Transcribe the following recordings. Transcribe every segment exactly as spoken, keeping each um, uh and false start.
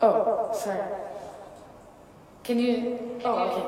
Oh, sorry. Can you? Oh, okay.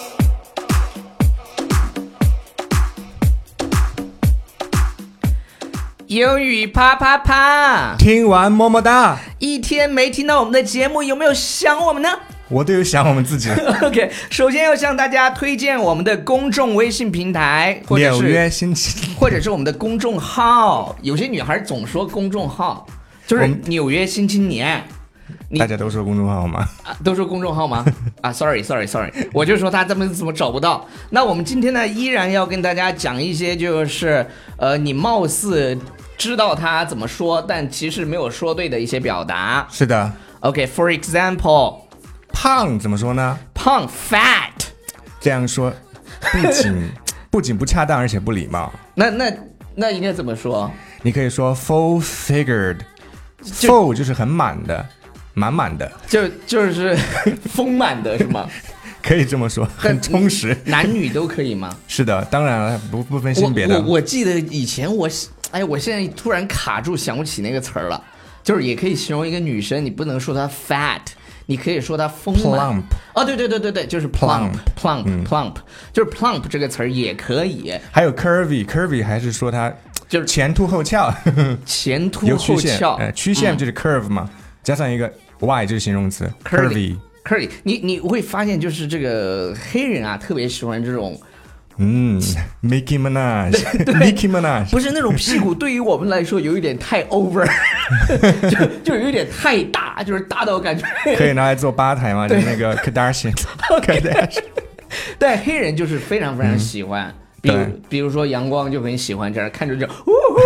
英语啪啪啪， 听完么么哒。 一天没听到我们的节目，有没有想我们呢？ 我都有想我们自己。 OK， 首先要向大家推荐我们的公众微信平台，或者是纽约新青， 或者是我们的公众号。有些女孩总说公众号，就是纽约新青年。 大家都说公众号吗？ 啊，都说公众号吗？啊 ，sorry sorry sorry， 我就说他怎么怎么找不到。那我们今天呢，依然要跟大家讲一些，就是呃，你貌似知道他怎么说，但其实没有说对的一些表达。 是的。 OK，for example， 胖怎么说呢？ 胖 fat， 这样说不仅不仅不恰当，而且不礼貌。 那那那应该怎么说？ 你可以说 full figured。full 就是很满的，满满的， 就就是丰满的是吗？ 可以这么说，很充实。 男女都可以吗？ 是的，当然了，不不分性别的。 我 我, 我记得以前我，哎，我现在突然卡住，想不起那个词儿了。就是也可以形容一个女生，你不能说她 fat， 你可以说她丰满。 plump。 哦，对对对对对，就是 plump plump、嗯、plump， 就是 plump 这个词儿也可以。 还有 curvy curvy 还是说它就是前凸后翘， 前凸后翘， 呃，曲线就是 curve 嘛，嗯、加上一个 y 就是形容词 curvy curvy。你你会发现，就是这个黑人啊，特别喜欢这种。 嗯 ，Nicki Minaj，Nicki Minaj， 不是那种屁股，对于我们来说有一点太 over， 就就有一点太大，就是大到感觉可以拿来做吧台嘛，就那个 Kardashian， 对，黑人就是非常非常喜欢，嗯、比如比如说阳光就很喜欢这样看着就，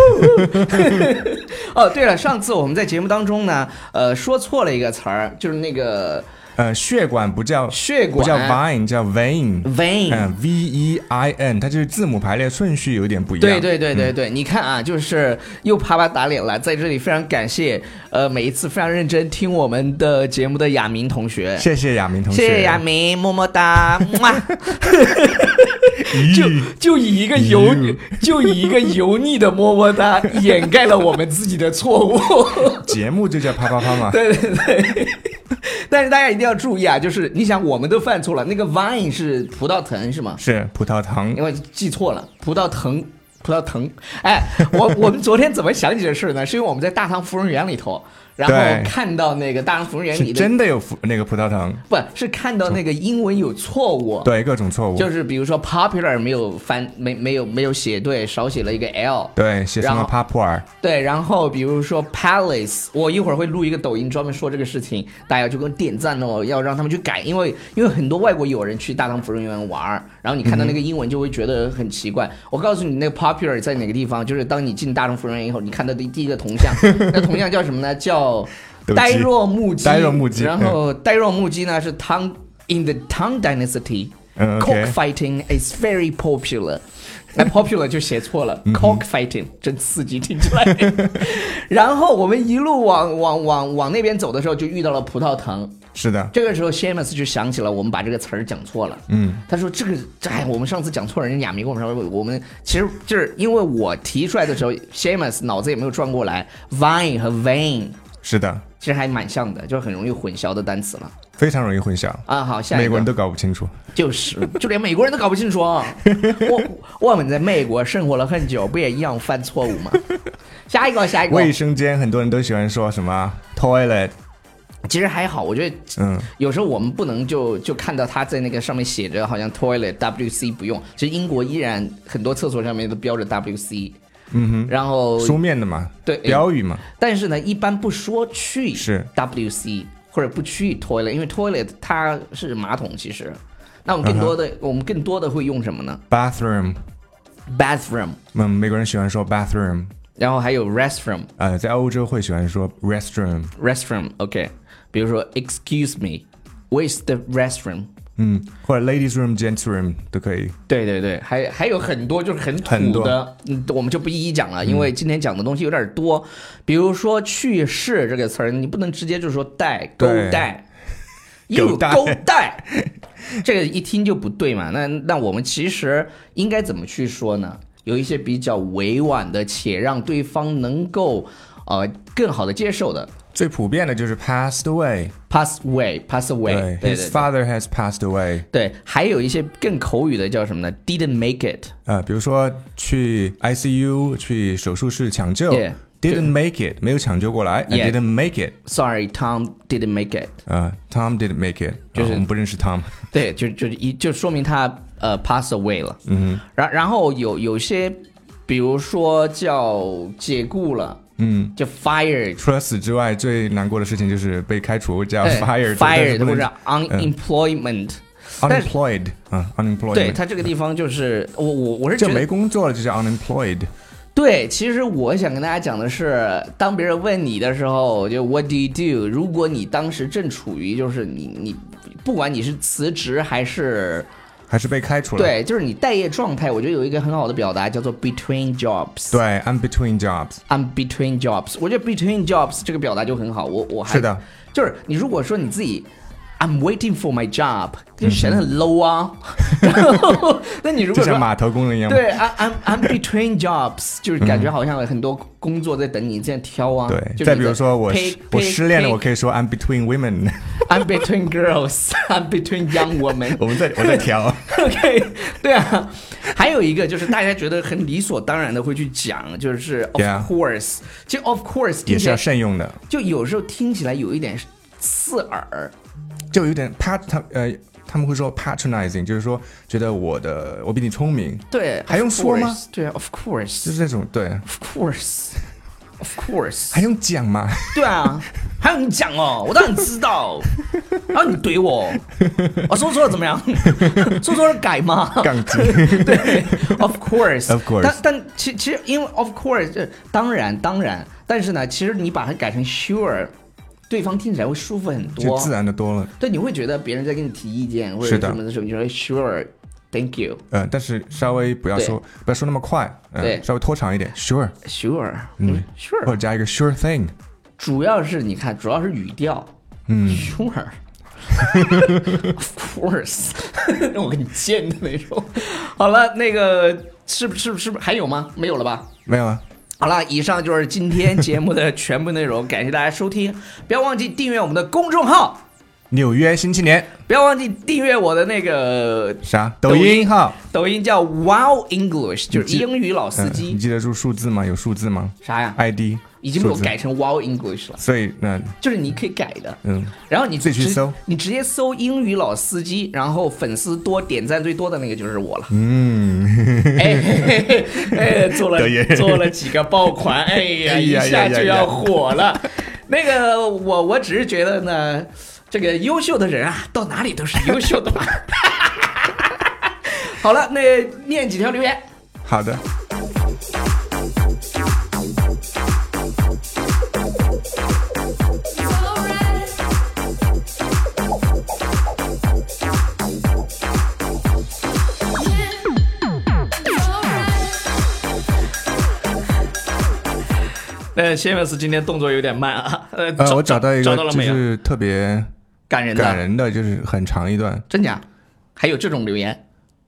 哦，对了，上次我们在节目当中呢，呃，说错了一个词儿，就是那个。 呃，血管不叫血管， 不叫 vein， 叫 vein，vein， 嗯 ，v e i n， 它就是字母排列顺序有点不一样。 对对对对对，嗯、你看啊，就是又啪啪打脸了，在这里非常感谢，呃，每一次非常认真听我们的节目的亚明同学， 谢谢亚明同学， 谢谢亚明，么么哒，就就以一个油就以一个油腻的么么哒掩盖了我们自己的错误。 节目就叫啪啪啪嘛。 对对对。但是大家一定要注意啊，就是你想我们都犯错了，那个 vine 是葡萄藤是吗？ 是葡萄藤， 因为记错了，葡萄藤，葡萄藤。哎，我我们昨天怎么想起这事呢？是因为我们在大唐芙蓉园里头，然后看到那个大唐芙蓉园里的真的有那个葡萄藤， 不是看到那个英文有错误， 对各种错误， 就是比如说 popular 没有翻没没有没有写对，少写了一个 l， 对，写成了 popular， 对，然后比如说 palace， 我一会儿会录一个抖音专门说这个事情，大家就给我点赞哦，要让他们去改，因为因为很多外国友人去大唐芙蓉园玩，然后你看到那个英文就会觉得很奇怪。嗯、我告诉你，那个 popular 在哪个地方？就是当你进大唐芙蓉园以后，你看到的第一个铜像，那铜像叫什么呢？叫呆若木鸡， 呆若木鸡， 然后呆若木鸡呢是 Tang in the Tang Dynasty， 嗯 cockfighting is very popular。哎 ，popular 就写错了、嗯、，cockfighting 真刺激，听起来。然后我们一路往往往往那边走的时候，就遇到了葡萄藤。 是的， 这个时候 Seamus 就想起了我们把这个词儿讲错了。嗯，他说这个，哎，我们上次讲错了，人家亚明跟我们说，我们其实就是因为我提出来的时候 ，Seamus 脑子也没有转过来 ，vine 和 vein。 是的， 其实还蛮像的，就是很容易混淆的单词了， 非常容易混淆啊。好，下一个美国人都搞不清楚， 就是就连美国人都搞不清楚。我我们在美国生活了很久，不也一样犯错误吗？下一个，下一个， 卫生间很多人都喜欢说什么 toilet。 其实还好，我觉得，嗯，有时候我们不能就就看到他在那个上面写着好像 toilet W C 不用，其实英国依然很多厕所上面都标着 W C。 嗯哼， 然后书面的嘛， 对， 标语嘛。 但是呢，一般不说去是 W C 或者不去 toilet， 因为 toilet 它是马桶，其实。那我们更多的，uh-huh. 我们更多的会用什么呢 ？bathroom，bathroom。嗯，美国人喜欢说 bathroom， 然后还有 restroom。 呃，在欧洲会喜欢说 restroom。restroom，OK， 比如说 excuse me，where's the restroom？ 嗯，或者 ladies room、gents room 都可以。 对对对，还还有很多就是很土的，嗯，我们就不一一讲了，因为今天讲的东西有点多。嗯、比如说去世这个词儿，你不能直接就说带勾带，有勾带，这个一听就不对嘛。那那我们其实应该怎么去说呢？有一些比较委婉的，且让对方能够呃更好的接受的。 最普遍的就是 passed away pass away pass away 对， 对 his father has passed away 对，还有一些更口语的叫什么呢 didn't make it 呃，比如说去 I C U 去手术室抢救、 yeah, didn't make it 没有抢救过来、 yeah, I didn't make it sorry Tom didn't make it 呃 Tom didn't make it 就是、 呃、我们不认识 Tom 对就就一就说明他呃 pass away 了。 嗯然然后有有些比如说叫解雇了， 嗯， 就 fired。 除了死之外，最难过的事情就是被开除，叫 fired， fired 或者 unemployment。 unemployed 啊 unemployed。 对，他这个地方就是我我我是觉得就没工作了，就叫 unemployed。 对，其实我想跟大家讲的是，当别人问你的时候，就 What do you do？ 如果你当时正处于就是你你不管你是辞职还是。 还是被开除了。 对，就是你待业状态，我觉得有一个很好的表达叫做 between jobs。 对 ，I'm between jobs。 I'm between jobs。我觉得 between jobs 这个表达就很好。我我还是的， 就是你如果说你自己 I'm waiting for my job， 就显得很 low 啊。然后，那你如果说就像码头工人一样， 对 ，I'm I'm between jobs， 就是感觉好像有很多工作在等你这样挑啊。 对，再比如说我我失恋了，我可以说 I'm between women。I'm between girls，I'm between young women 。 我们在我在挑。 OK， 对啊，还有一个就是大家觉得很理所当然的会去讲，就是 of course， 其实 of course 也是要慎用的， 就有时候听起来有一点刺耳， 就有点 pat 他呃他们会说 patronizing， 就是说觉得我的我比你聪明， 对， 还用说吗？ 对 ，of course， 就是这种对 ，of course。Of course， 还用讲吗？ 对啊，还用你讲哦，我当然知道。然后你怼我，我说错了怎么样？说错了改吗？ 杠精。 对 ，of course，of course。 但但其其实因为 of course， 当然当然，但是呢，其实你把它改成 sure， 对方听起来会舒服很多， 就自然的多了。 对，你会觉得别人在跟你提意见或者什么的时候，你说 sure。Thank you。 呃，但是稍微不要说不要说那么快，呃、对，稍微拖长一点。Sure。 Sure。 嗯 ，Sure。 或者加一个 sure thing。 主要是你看，主要是语调。 嗯。 Sure。Of course。让我跟你贱的那种。好了，那个是不是是不是还有吗？没有了吧？ 没有了。 好了，以上就是今天节目的全部内容，感谢大家收听，不要忘记订阅我们的公众号。 纽约新青年， 不要忘记订阅我的那个啥抖音号， 抖音叫 Wow English， 就是英语老司机、 嗯。你记得住数字吗？有数字吗？ 啥呀 ？I D 已经被我改成 Wow English 了， 所以那就是你可以改的， 嗯。 然后你自己去搜， 你直接搜英语老司机，然后粉丝多、点赞最多的那个就是我了。 嗯， 哎嘿嘿哎，做了做了几个爆款，哎呀，一下就要火了。那个我我只是觉得呢。这个优秀的人啊，到哪里都是优秀的嘛。好了，那念几条留言。 好的。 呃，谢梅斯今天动作有点慢啊。呃， 呃我找到一个到就是特别感人的， 感人的就是很长一段。 真假？还有这种留言？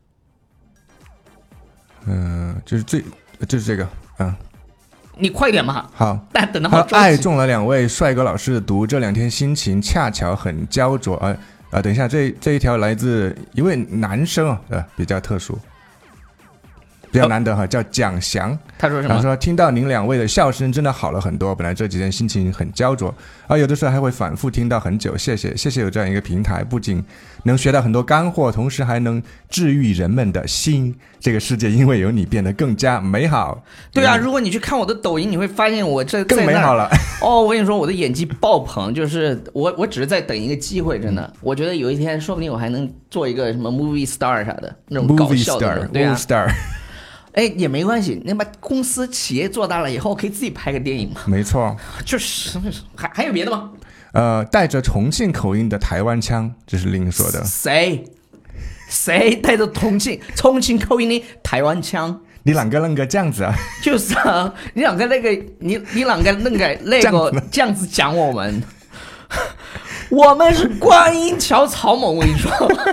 嗯、呃，就是最就是这个，嗯。 你快点嘛。 好， 但等的好。 爱中了两位帅哥老师的读，这两天心情恰巧很焦灼啊啊！等一下，这这一条来自一位男生啊，呃，比较特殊。比较难得哈，叫蒋翔。 他说什么？ 他说听到您两位的笑声真的好了很多，本来这几天心情很焦灼，而有的时候还会反复听到很久。谢谢，谢谢有这样一个平台，不仅能学到很多干货，同时还能治愈人们的心。这个世界因为有你变得更加美好。 对啊，如果你去看我的抖音，你会发现我这更美好了。 哦，我跟你说，我的演技爆棚，就是我我只是在等一个机会，真的，嗯、我觉得有一天说不定我还能做一个什么 movie star 啥的那种搞笑的人，对啊。 star 哎，也没关系，那把公司企业做大了以后，可以自己拍个电影嘛。 没错， 就是还还有别的吗？ 呃，带着重庆口音的台湾腔，这是另说的。 谁？谁带着重庆重庆口音的台湾腔？ 你啷个啷个这样子啊？ 就是啊，你啷个那个你你啷个那个那个这样子讲我们？我们是观音桥草蜢，我跟你说。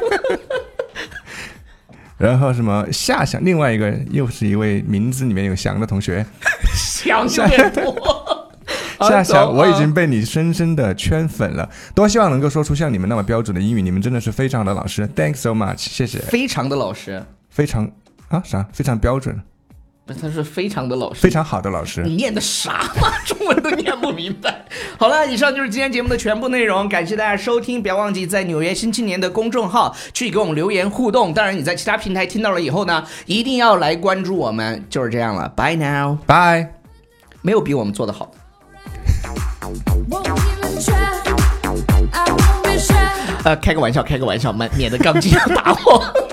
然后什么夏翔，另外一个又是一位名字里面有翔的同学， 翔有点多。 夏夏，我已经被你深深的圈粉了，多希望能够说出像你们那么标准的英语，你们真的是非常的老师 ，Thanks so much， 谢谢。 非常的老师， 非常啊啥？非常标准。 他是非常的老师， 非常好的老师。 你念的啥嘛？中文都念不明白。好了，以上就是今天节目的全部内容，感谢大家收听，不要忘记在纽约新青年的公众号去给我们留言互动。当然，你在其他平台听到了以后呢，一定要来关注我们。就是这样了 ，Bye now， Bye。 没有比我们做的好的。呃，开个玩笑，开个玩笑，免得钢筋要打我。